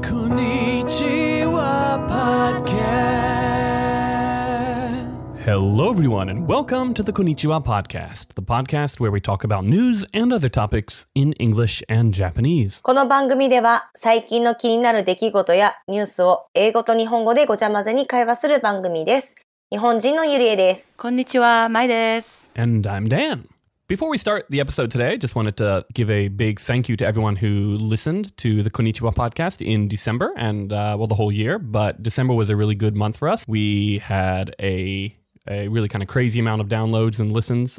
Konnichiwa Podcast. Hello, everyone, and welcome to the Konnichiwa Podcast, the podcast where we talk about news and other topics in English and Japanese. この番組では最近の気になる出来事やニュースを英語と日本語でごちゃ混ぜに会話する番組です。日本人のゆりえです。 こんにちは、まいです。 And I'm Dan. Before we start the episode today, just wanted to give a big thank you to everyone who listened to the Konnichiwa podcast in December and, the whole year. But December was a really good month for us. We had a really kind of crazy amount of downloads and listens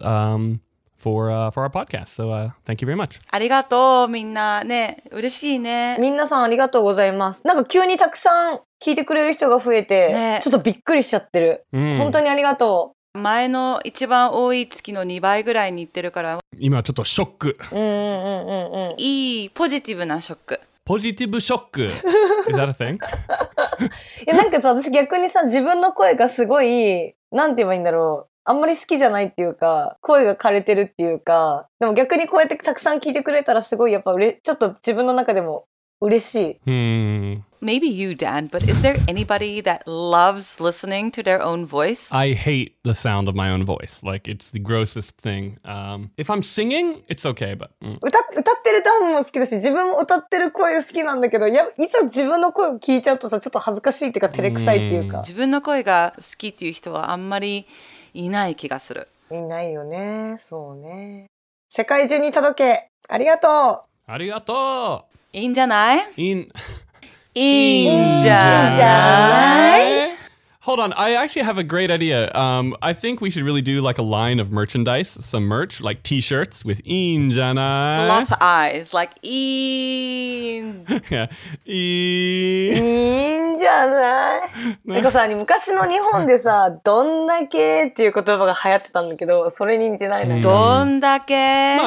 for our podcast. So thank you very much. ありがとう、みんなね。嬉しいね。 みんなさんありがとうございます。なんか急にたくさん聞いてくれる人が増えて、 ね、 ちょっとびっくりしちゃってる。本当にありがとう。 前の一番多い月の2倍ぐらいに行ってるから今ちょっとショック。 いいポジティブなショック。 ポジティブショック。Is that a thing? いやなんかさ、私逆にさ、自分の声がすごい、なんて言えばいいんだろう。あんまり好きじゃないっていうか、声が枯れてるっていうか、でも逆にこうやってたくさん聞いてくれたらすごいやっぱちょっと自分の中でも嬉しい。 Maybe you, Dan, but is there anybody that loves listening to their own voice? I hate the sound of my own voice. Like, it's the grossest thing. If I'm singing, it's okay, but... 歌ってる歌も好きだし、自分も歌ってる声好きなんだけど、いざ自分の声を聞いちゃうとさ、ちょっと恥ずかしいっていうか、照れくさいっていうか。 自分の声が好きっていう人はあんまりいない気がする。 いないよね。そうね。世界中に届け。ありがとう。 ありがとう。 いいんじゃない？いいんじゃない？ Hold on, I actually have a great idea. I think we should really do like a line of merchandise, some merch, like t-shirts with いいんじゃない? Lots of eyes, like いいん。 Yeah. いいんじゃない？なんかさ、昔の日本でさ、どんだけっていう言葉が流行ってたんだけど、それに似てないな。 どんだけ？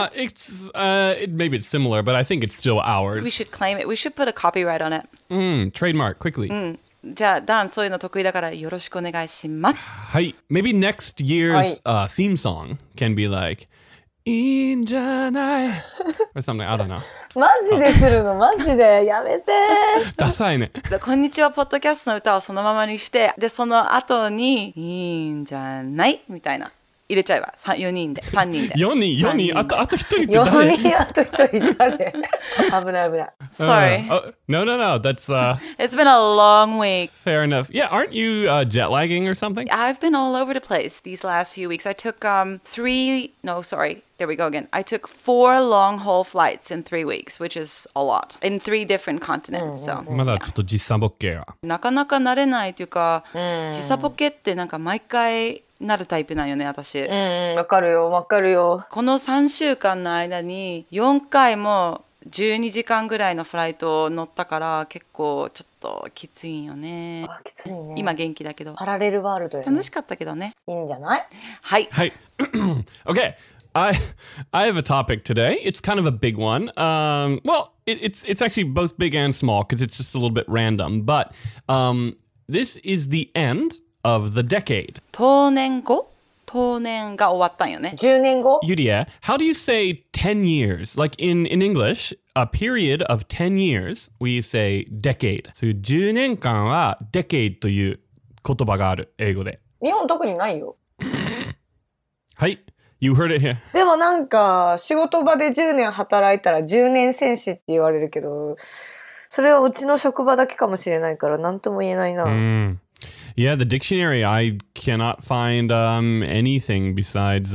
Maybe it's similar, but I think it's still ours. We should claim it. We should put a copyright on it. Trademark, quickly. じゃあ、ダン、そういうの得意だからよろしくお願いします。 はい。Maybe next year's theme song can be like, いいんじゃない or something, I don't know. マジでするのマジでやめてダサいね。 こんにちは、ポッドキャストの歌をそのままにして、で、その後に、いいんじゃないみたいな。入れちゃえば4人で3人で 4人あと1人って誰 4人あと1人誰危ない。 Sorry. No, that's It's been a long week. Fair enough. Yeah, aren't you jet lagging or something? I've been all over the place these last few weeks. I took there we go again. I took 4 long haul flights in 3 weeks, which is a lot. In 3 different continents. So, まだちょっと時差ボケが。 なかなか慣れないというか、時差ボケってなんか毎回なるタイプなんよね、私。 わかるよ。 この3週間の間に4回も12時間ぐらいのフライトを乗ったから結構ちょっときついんよね。 きついね。 今元気だけど。 パラレルワールドよね。 楽しかったけどね。 いいんじゃない？ はい。 Okay. I have a topic today. It's kind of a big one. It's actually both big and small because it's just a little bit random. But this is the end of the decade. 当年が終わったんよね。 10年後 Yuria, how do you say 10 years? Like in English, a period of 10 years, we say decade. So 10年間は decade という言葉がある、英語で。 日本特にないよ。 はい。You heard it here. でもなんか仕事場で10年働いたら10年戦士って言われるけど、それはうちの職場だけかもしれないから何とも言えないな。 Yeah, the dictionary, I cannot find anything besides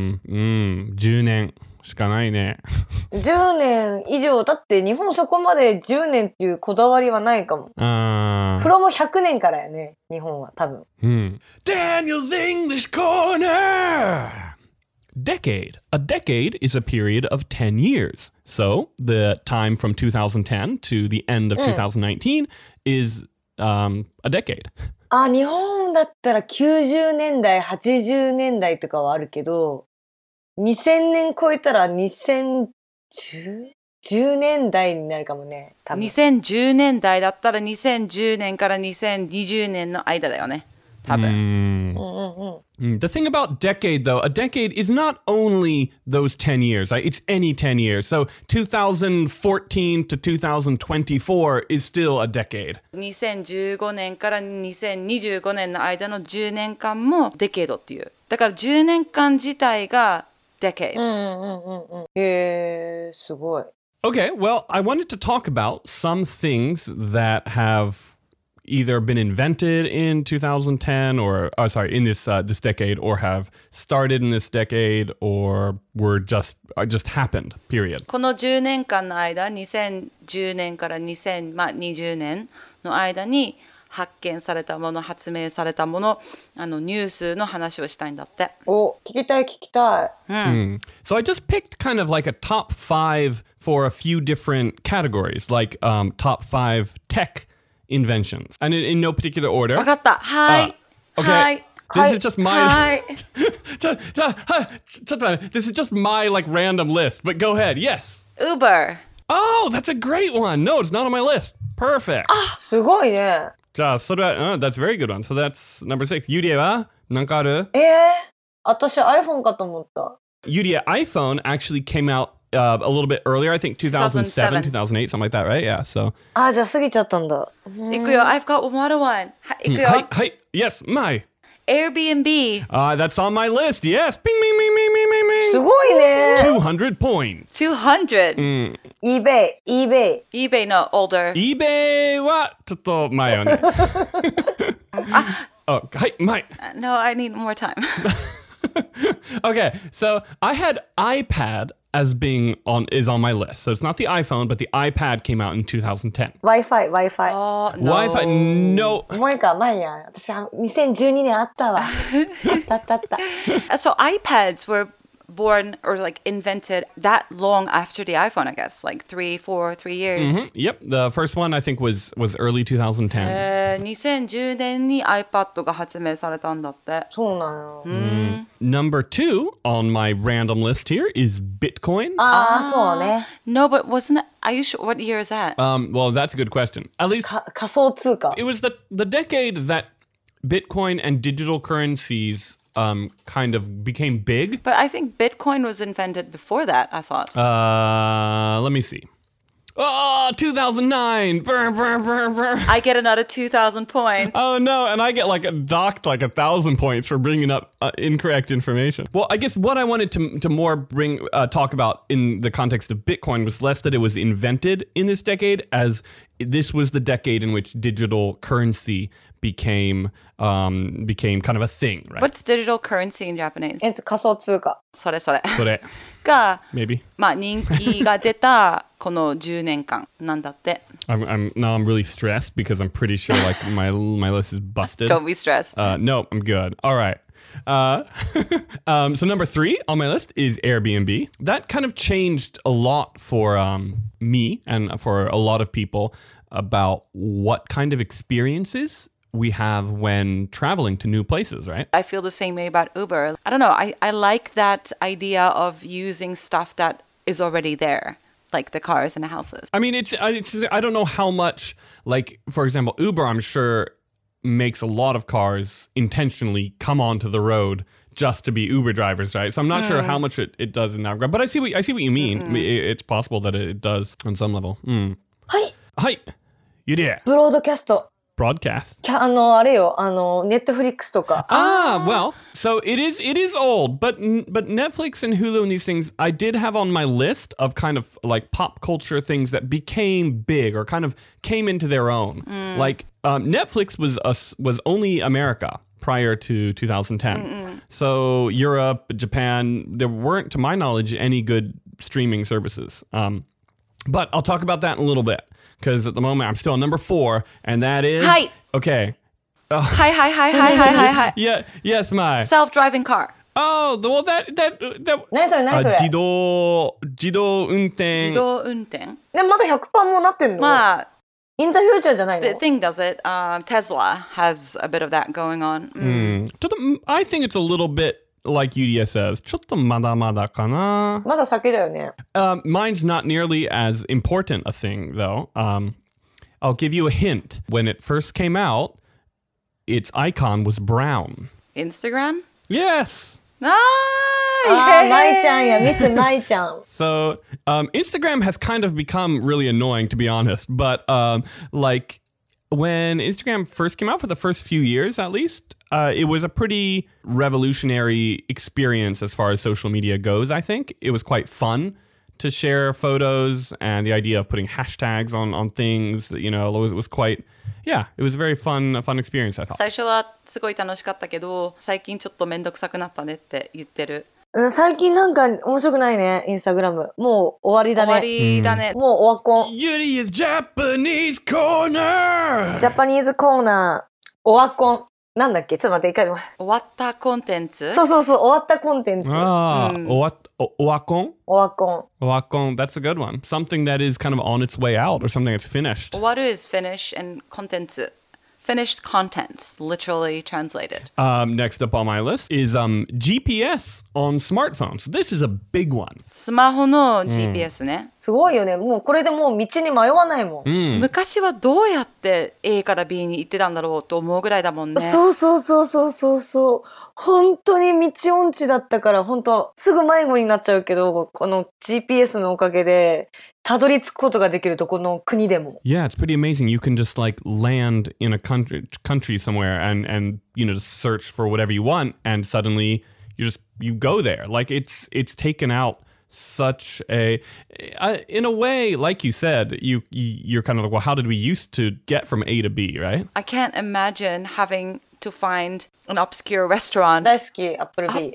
10年しかないね。 10年以上、だって日本そこまで10年っていうこだわりはないかも。from 100年からやね、日本は多分。 Daniel's English Corner! Decade. A decade is a period of 10 years. So the time from 2010 to the end of 2019 is a decade. 日本だったら90年代、80年代とかはあるけど、2000年超えたら2010年代になるかもね。多分 2010年代だったら2010年から2020年の間だよね。 多分。 The thing about decade, though, a decade is not only those 10 years, right? It's any 10 years. So 2014 to 2024 is still a decade. 2015年から2025年の間の10年間もデケードっていう。だから10年間自体がデケード。 へー、すごい。 Okay, well, I wanted to talk about some things that have either been invented in 2010 or in this decade, or have started in this decade, or were just happened. Period. この10年間の間、2010年から2020年の間に発見されたもの、発明されたもの、ニュースの話をしたいんだって。 お、聞きたい。 So I just picked kind of like a top 5 for a few different categories, like top 5 tech inventions, and in no particular order. わかった。はい。 Okay. はい。 This is just my はい。 This is just my like random list, but go ahead. Yes. Uber. Oh, that's a great one. No, it's not on my list. Perfect. すごいね。 じゃあ、それは、that's a very good one. So that's number 6. ユリエは何かある？ 私 iPhone かと思った。 ユリエ iPhone actually came out a little bit earlier. I think 2007, 2008, something like that, right? Yeah, so. じゃあ過ぎちゃったんだ。 いくよ。I've got another one. いくよ。 はい。Yes, my. Airbnb. That's on my list. Yes. Bing, bing, bing, bing, bing, bing, bing. すごいね。 200 points. 200. eBay の older. eBay はちょっと前よね。はい、前。 No, I need more time. Okay, so I had iPad as being is on my list. So it's not the iPhone, but the iPad came out in 2010. Wi-Fi. Oh, no. Wi-Fi, no. 前や。私2012年あったわ。あった。 So iPads were born or like invented that long after the iPhone, I guess, like 3 years. Yep, the first one I think was early 2010. 2010年に iPad が発明されたんだって。 そうなんよ。 Number 2 on my random list here is Bitcoin. そうね。 No, but wasn't it? Are you sure? What year is that? Well, that's a good question. At least 仮想通貨。 it was the decade that Bitcoin and digital currencies kind of became big. But I think Bitcoin was invented before that, I thought. Let me see. Oh, 2009. Brr, brr, brr, brr. I get another 2,000 points. Oh no, and I get docked 1,000 points for bringing up incorrect information. Well, I guess what I wanted to more talk about in the context of Bitcoin was less that it was invented in this decade, as this was the decade in which digital currency became kind of a thing, right? What's digital currency in Japanese? 仮想通貨。 それ。 それが、 maybe. 人気が出たこの10年間なんだって。 I'm really stressed because I'm pretty sure my list is busted. Don't be stressed. No, I'm good. All right. So number 3 on my list is Airbnb. That kind of changed a lot for me and for a lot of people about what kind of experiences we have when traveling to new places, right? I feel the same way about Uber. I don't know. I like that idea of using stuff that is already there, like the cars and the houses. I mean, it's I don't know how much, like, for example, Uber, I'm sure, makes a lot of cars intentionally come onto the road just to be Uber drivers, right? So I'm not sure how much it does in that regard. But I see what you mean. It's possible that it does on some level. はい。ゆりえ。 ブロードキャスト。 Broadcast. あれよ、Netflix とか。 Well, so it is old, but Netflix and Hulu and these things I did have on my list of kind of like pop culture things that became big or kind of came into their own. Like Netflix was only America prior to 2010. So Europe, Japan, there weren't, to my knowledge, any good streaming services. But I'll talk about that in a little bit. Because at the moment I'm still on number 4, and that is... Hi. Okay. Hi. Yeah, yes, my. Self-driving car. Oh, well, that 何それ自動運転。 自動運転。 まだ 100% もなってんの？In the future じゃないの？ The thing does it. Tesla has a bit of that going on. I think it's a little bit like UDS says. ちょっとまだまだかな。 まだ先だよね。 Mine's not nearly as important a thing, though. I'll give you a hint. When it first came out, its icon was brown. Instagram? Yes. あー、舞ちゃんや、ミス舞ちゃん。 So Instagram has kind of become really annoying, to be honest. But like when Instagram first came out, for the first few years at least, it was a pretty revolutionary experience as far as social media goes, I think. It was quite fun to share photos, and the idea of putting hashtags on things, you know, it was quite, yeah, it was a very fun experience, I thought. 最初はすごい楽しかったけど、最近ちょっとめんどくさくなったねって言ってる。 最近なんか面白くないね、インスタグラム。もう終わりだね。 終わりだね。 もうオワコン。 Yuri is Japanese corner! ジャパニーズコーナー、オワコン。なんだっけ、ちょっと待って、一回。 終わったコンテンツ。 そうそうそう、終わったコンテンツ。 Owakon? オワコン。 Owakon, that's a good one. Something that is kind of on its way out, or something that's finished. 終わる is finish and コンテンツ。Finished contents, literally translated. Next up on my list is GPS on smartphones. This is a big one. スマホの GPS ね。 すごいよね。もうこれでもう道に迷わないもん。 昔はどうやって A から B に行ってたんだろうと思うぐらいだもんね。 そうそうそうそうそうそう。本当に道音痴だったから、本当すぐ迷子になっちゃうけど、この GPS のおかげでたどり着くことができるとこの国でも。 Yeah, it's pretty amazing. You can just like land in a country somewhere and you know, just search for whatever you want, and suddenly you go there. Like it's taken out such a in a way, like you said, you're kind of like, well, how did we used to get from A to B, right? I can't imagine having to find an obscure restaurant. 大好き、アップルビー。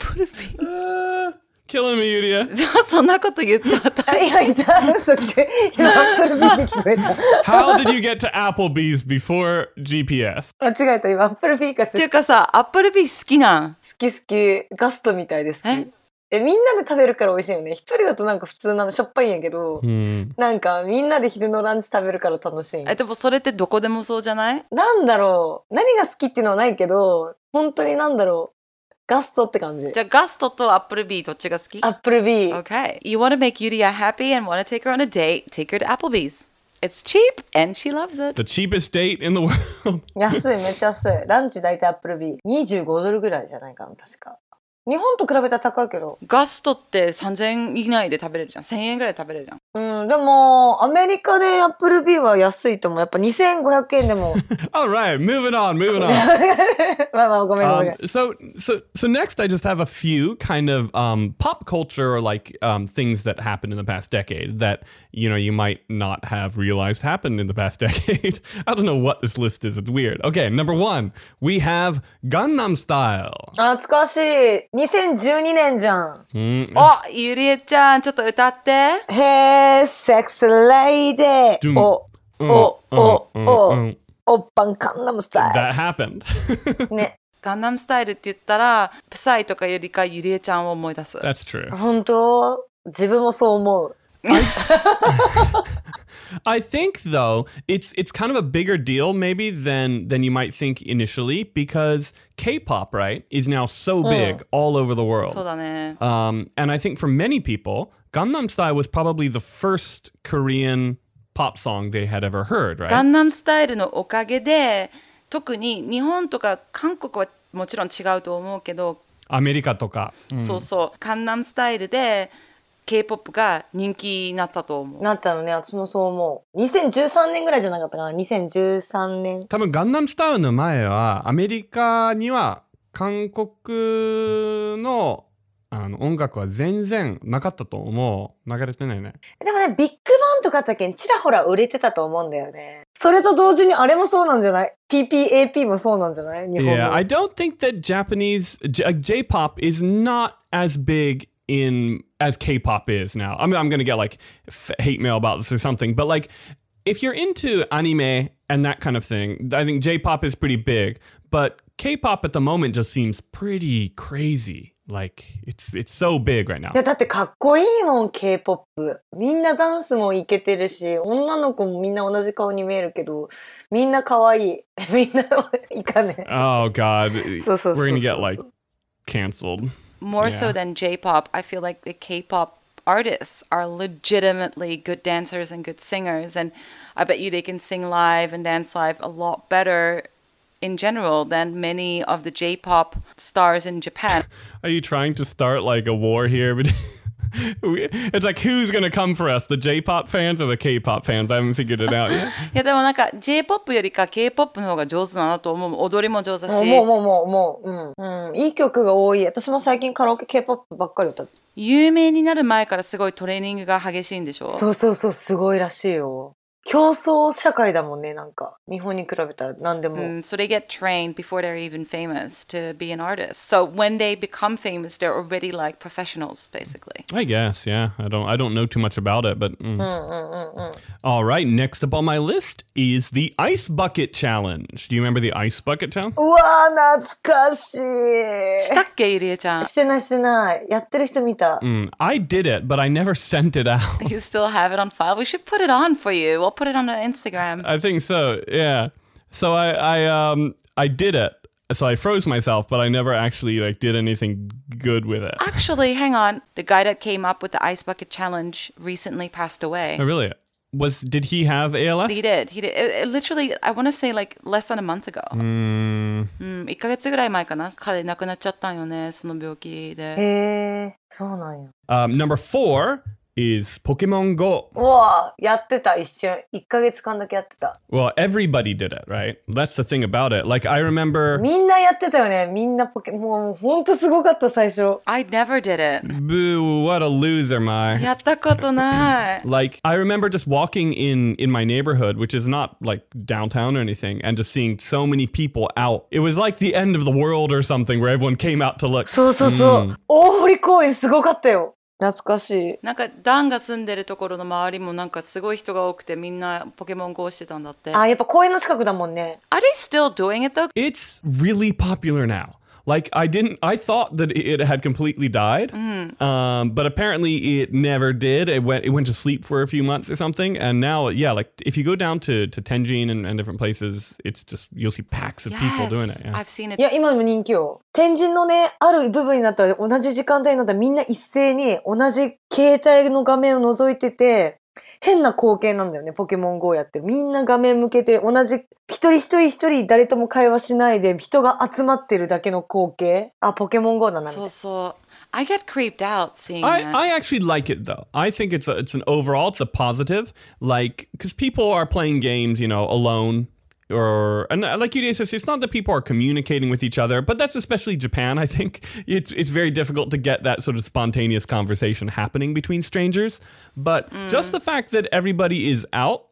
Killing me, Yuria. そんなこと言った私。 今言った嘘聞こえ。今アップルビーで聞こえた。 How did you get to Applebee's before GPS? 間違えた、今アップルビーかっていうかさ、アップルビー好きなん？ 好き好き。ガストみたいで好き。みんなで食べるから美味しいよね。一人だとなんか普通なのしょっぱいんやけど、なんかみんなで昼のランチ食べるから楽しい。 でもそれってどこでもそうじゃない？ なんだろう。何が好きっていうのはないけど、本当になんだろう。ガストって感じ。 じゃあガストとアップルビーどっちが好き？ アップルビー。 Okay. You want to make Yuria happy and want to take her on a date, take her to Applebee's. It's cheap and she loves it. The cheapest date in the world. 安い、めっちゃ安い。ランチ大体アップルビー。$25ぐらいじゃないかな、確か。日本と比べたら高いけど。 ガストって3000円以内で食べれるじゃん。1000円ぐらいで食べれるじゃん。 うん、でも、アメリカでアップルビーは安いと思う。やっぱ2500円でも。 Alright, moving on. まあまあ、ごめんごめん。 So next I just have a few kind of pop culture or like things that happened in the past decade that, you know, you might not have realized happened in the past decade. I don't know what this list is. It's weird. Okay, number one, we have Gangnam Style. 懐かしい。2012年じゃん。 お、ゆりえちゃん、ちょっと歌って。 Hey, sexy lady. おっぱんカンナムスタイル。 That happened. ね。 ガンナムスタイルって言ったら、プサイとかよりかゆりえちゃんを思い出す。 That's true. 本当？自分もそう思う。 I think though it's kind of a bigger deal maybe than you might think initially, because K-pop, right, is now so big all over the world. そうだね。 And I think for many people, Gangnam Style was probably the first Korean pop song they had ever heard, right? ガンナムスタイルのおかげで、特に日本とか韓国はもちろん違うと思うけど、 アメリカとか。 そうそう、ガンナムスタイルで K-POP が人気になったと思う。 なったのね、私もそう思う。2013年ぐらいじゃなかったかな、2013年。 多分ガンナムスタイルの前はアメリカには韓国の音楽は全然なかったと思う。流れてないね。 でもね、ビッグバンとかあったけん、ちらほら売れてたと思うんだよね。それと同時にあれもそうなんじゃない？ PPAP もそうなんじゃない？日本の。 Yeah, I don't think that J-pop is not as big as K-pop is now. I mean, I'm gonna get like hate mail about this or something, but like if you're into anime and that kind of thing, I think J-pop is pretty big, but K-pop at the moment just seems pretty crazy. Like it's so big right now. いやだってかっこいいもん K-POP。みんなダンスもイケてるし、女の子もみんな同じ顔に見えるけど、みんな可愛い。みんないかね。 Oh God, そうそうそうそう。 we're gonna get like canceled. More so than J-pop, I feel like the K-pop artists are legitimately good dancers and good singers, and I bet you they can sing live and dance live a lot better in general than many of the J-pop stars in Japan. Are you trying to start like a war here? It's like, who's going to come for us? The J-pop fans or the K-pop fans? I haven't figured it out yet. いやでもなんか J-pop よりか K-pop の方が上手だなと思う。踊りも上手だし。 いい曲が多い。私も最近カラオケ K-POP ばっかり歌って。 有名になる前からすごいトレーニングが激しいんでしょ？ そうそうそう、すごいらしいよ。競争社会だもんね、なんか。日本に比べたら何でも。 So they get trained before they're even famous to be an artist. So when they become famous, they're already like professionals, basically. I guess, yeah. I don't know too much about it, but... All right, next up on my list is the Ice Bucket Challenge. Do you remember the Ice Bucket Challenge? うわー、懐かしい。 したっけ、ゆりえちゃん。 してないしてない。やってる人見た。 I did it, but I never sent it out. You still have it on file? We should put it on for you. We'll put it on Instagram. I think so, yeah. So I did it. So I froze myself, but I never actually like did anything good with it. Actually, hang on. The guy that came up with the Ice Bucket Challenge recently passed away. Oh, really? Did he have ALS? He did. It literally, I want to say like less than a month ago. 1ヶ月ぐらい前かな。彼亡くなっちゃったんよね、その病気で。 へー、そうなんや。 Number 4 is Pokemon Go. うわー、やってた、一瞬。1ヶ月間だけやってた。 Well, everybody did it, right? That's the thing about it. Like, I remember... みんなやってたよね。みんなもうほんとすごかった、最初。 I never did it. Boo, what a loser, Mai. やったことない。 Like, I remember just walking in my neighborhood, which is not like downtown or anything, and just seeing so many people out. It was like the end of the world or something where everyone came out to look. そうそうそう。大堀公園すごかったよ。懐かしい。 なんかダンが住んでるところの周りもなんかすごい人が多くてみんなポケモン GO してたんだって。 あ、やっぱ公園の近くだもんね。 Are they still doing it though? It's really popular now. Like, I thought that it had completely died, but apparently it never did. It went to sleep for a few months or something, and now, yeah, like, if you go down to Tenjin and different places, it's just, you'll see packs of people doing it. Yeah. I've seen it. いや、今でも人気よ。天神のね、ある部分になったら、同じ時間帯になったらみんな一斉に同じ携帯の画面を覗いてて、変な光景なんだよね、ポケモン GO やってる。みんな画面向けて同じ、一人誰とも会話しないで人が集まってるだけの光景。あ、ポケモン GO だなみたいな。 そうそう。I get creeped out seeing that. I actually like it though. I think it's an overall, it's a positive. Like, because people are playing games, you know, alone. And like Yuria says, it's not that people are communicating with each other, but that's especially Japan, I think. It's very difficult to get that sort of spontaneous conversation happening between strangers. But just the fact that everybody is out,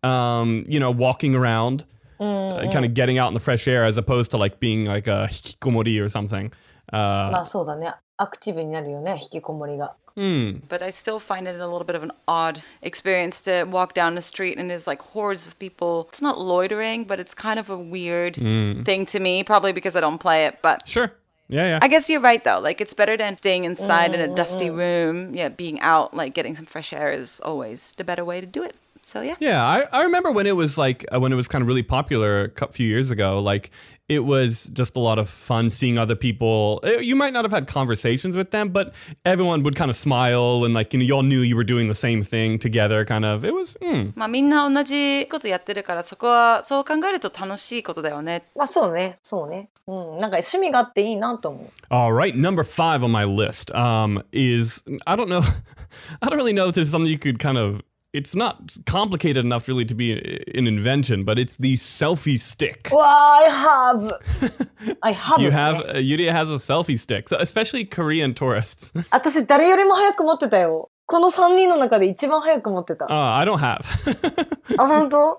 you know, walking around, kind of getting out in the fresh air as opposed to like being like a hikikomori or something. まあそうだね。アクティブになるよね、引きこもりが。 But I still find it a little bit of an odd experience to walk down the street and there's like hordes of people. It's not loitering, but it's kind of a weird thing to me, probably because I don't play it. But sure. Yeah. I guess you're right though. Like it's better than staying inside in a dusty room. Yeah, being out, like getting some fresh air is always the better way to do it. So yeah. Yeah, I remember when it was like when it was kind of really popular a few years ago. Like it was just a lot of fun seeing other people. You might not have had conversations with them, but everyone would kind of smile and like, you know, you all knew you were doing the same thing together. Kind of, it was. まあみんな同じことやってるからそこはそう考えると楽しいことだよね。 まあそうね。なんか趣味があっていいなと思う。 All right, number 5 on my list is I don't really know if there's something you could kind of. It's not complicated enough really to be an invention, but it's the selfie stick. Well, I have. You have, Yuria has a selfie stick, so especially Korean tourists. 私誰よりも早く持ってたよ。この3人の中で一番早く持ってた。 I don't have. あ、本当？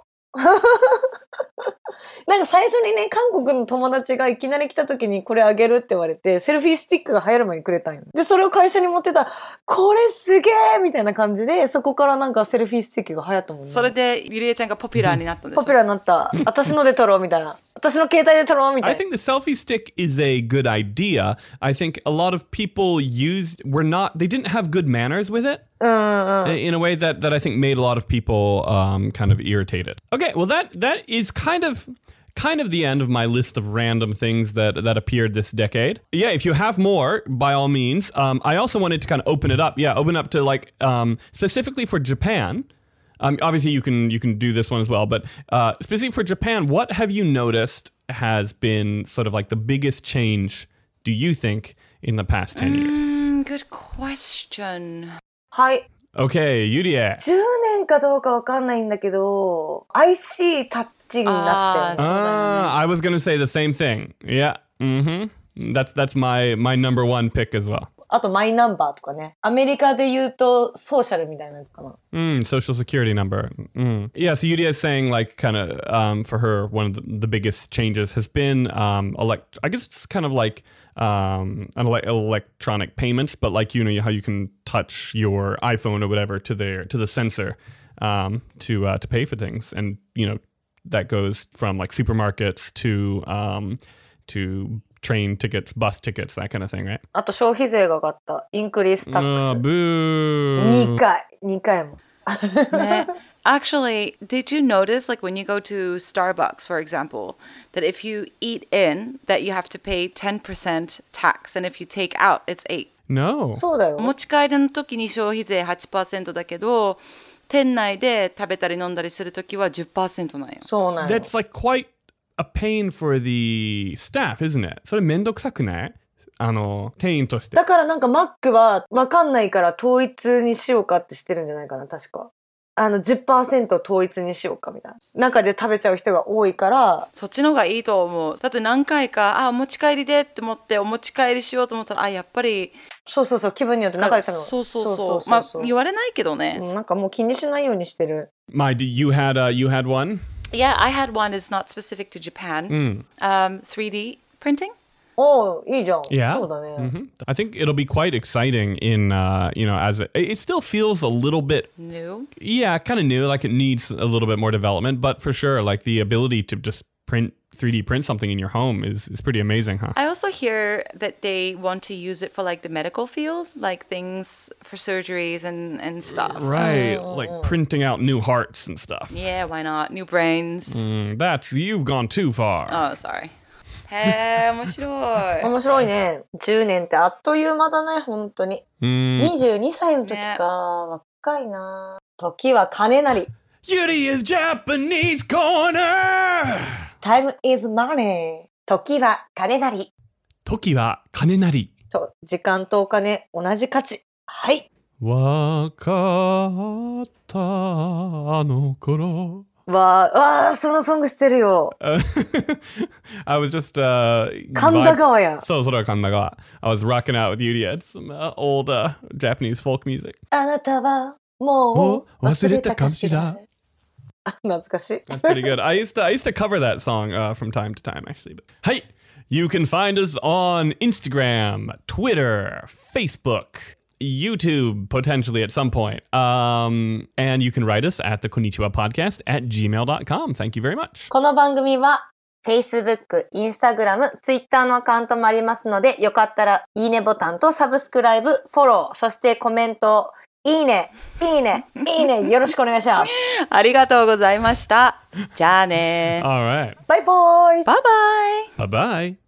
なんか最初にね、韓国の友達がいきなり来た時にこれあげるって言われて、セルフィースティックが流行る前にくれたんよ。で、それを会社に持ってたら、これすげーみたいな感じで、そこからなんかセルフィースティックが流行ったもんね。 それでゆりえちゃんがポピュラーになったんでしょ？ ポピュラーになった。私ので撮ろうみたいな。私の携帯で撮ろうみたいな。 I think the selfie stick is a good idea. I think a lot of people they didn't have good manners with it. In a way that I think made a lot of people kind of irritated. Okay, well that is kind of the end of my list of random things that appeared this decade. Yeah, if you have more, by all means. I also wanted to kind of open up to like specifically for Japan. Obviously, you can do this one as well, but specifically for Japan, what have you noticed has been sort of like the biggest change, do you think, in the past 10 years? Good question. はい。 Okay, Yurie. 10年かどうかわかんないんだけど、IC タッチになってる。 I was going to say the same thing. Yeah. That's my number one pick as well. あとマイナンバーとかね。アメリカで言うとソーシャルみたいなやつかな。 Social security number. Yeah, so Yuria is saying like kind of for her, one of the biggest changes has been I guess it's kind of like electronic payments, but like, you know, how you can touch your iPhone or whatever to the sensor to pay for things. And, you know, that goes from like supermarkets to train tickets, bus tickets, that kind of thing, right? あと消費税が上がった。インクリースタックス。 Boo! 2回も。 ね Actually, did you notice, like when you go to Starbucks, for example, that if you eat in, that you have to pay 10% tax, and if you take out, it's 8? No. そうだよ。 お持ち帰りの時に消費税 8% だけど、店内で食べたり飲んだりする時は 10% なんよ。 そうなんよ。 That's like quite a pain for the staff, isn't it? それめんどくさくない？店員として。 だからなんかマックはわかんないから統一にしようかってしてるんじゃないかな、確か。10% 統一にしようかみたいな。中で食べちゃう人が多いから。 そっちの方がいいと思う。だって何回か、お持ち帰りでって思って、お持ち帰りしようと思ったら、やっぱり。 そうそうそう、気分によって中で食べるの。 そう。まあ、言われないけどね。 なんかもう気にしないようにしてる。 You had one? Yeah, I had one. It's not specific to Japan. 3D printing. おー、いいじゃん。 Yeah. そうだね。 I think it'll be quite exciting in, as it still feels a little bit new. Yeah, kind of new, like it needs a little bit more development, but for sure, like the ability to just 3D print something in your home is pretty amazing, huh? I also hear that they want to use it for like the medical field, like things for surgeries and stuff. Right, like printing out new hearts and stuff. Yeah, why not? New brains. You've gone too far. Oh, sorry. へー、面白い。 面白いね。10年ってあっという間だね、本当に。22歳の時か、若いな。時は金なり。 Yuri is Japanese corner! Time is money. 時は金なり。 時は金なり。 そう、時間とお金、同じ価値。はい。 わかったあの頃。 わあ、そのソング知ってるよ。 I was just, 神田川や。 そう、それは神田川。I was rocking out with Yuri at some old Japanese folk music. あなたはもう忘れたかしら。懐かしい。 That's pretty good. I used to cover that song from time to time, actually. But, hey, you can find us on Instagram, Twitter, Facebook, YouTube, potentially at some point. And you can write us at the Konnichiwa Podcast at gmail.com. Thank you very much. この番組は Facebook、Instagram、Twitter のアカウントもありますので、よかったらいいねボタンとサブスクライブ、フォロー、そしてコメント、いいね、いいね、いいね、よろしくお願いします。 ありがとうございました。じゃあね。 All right. バイバイ。 バイバイ。 Bye-bye.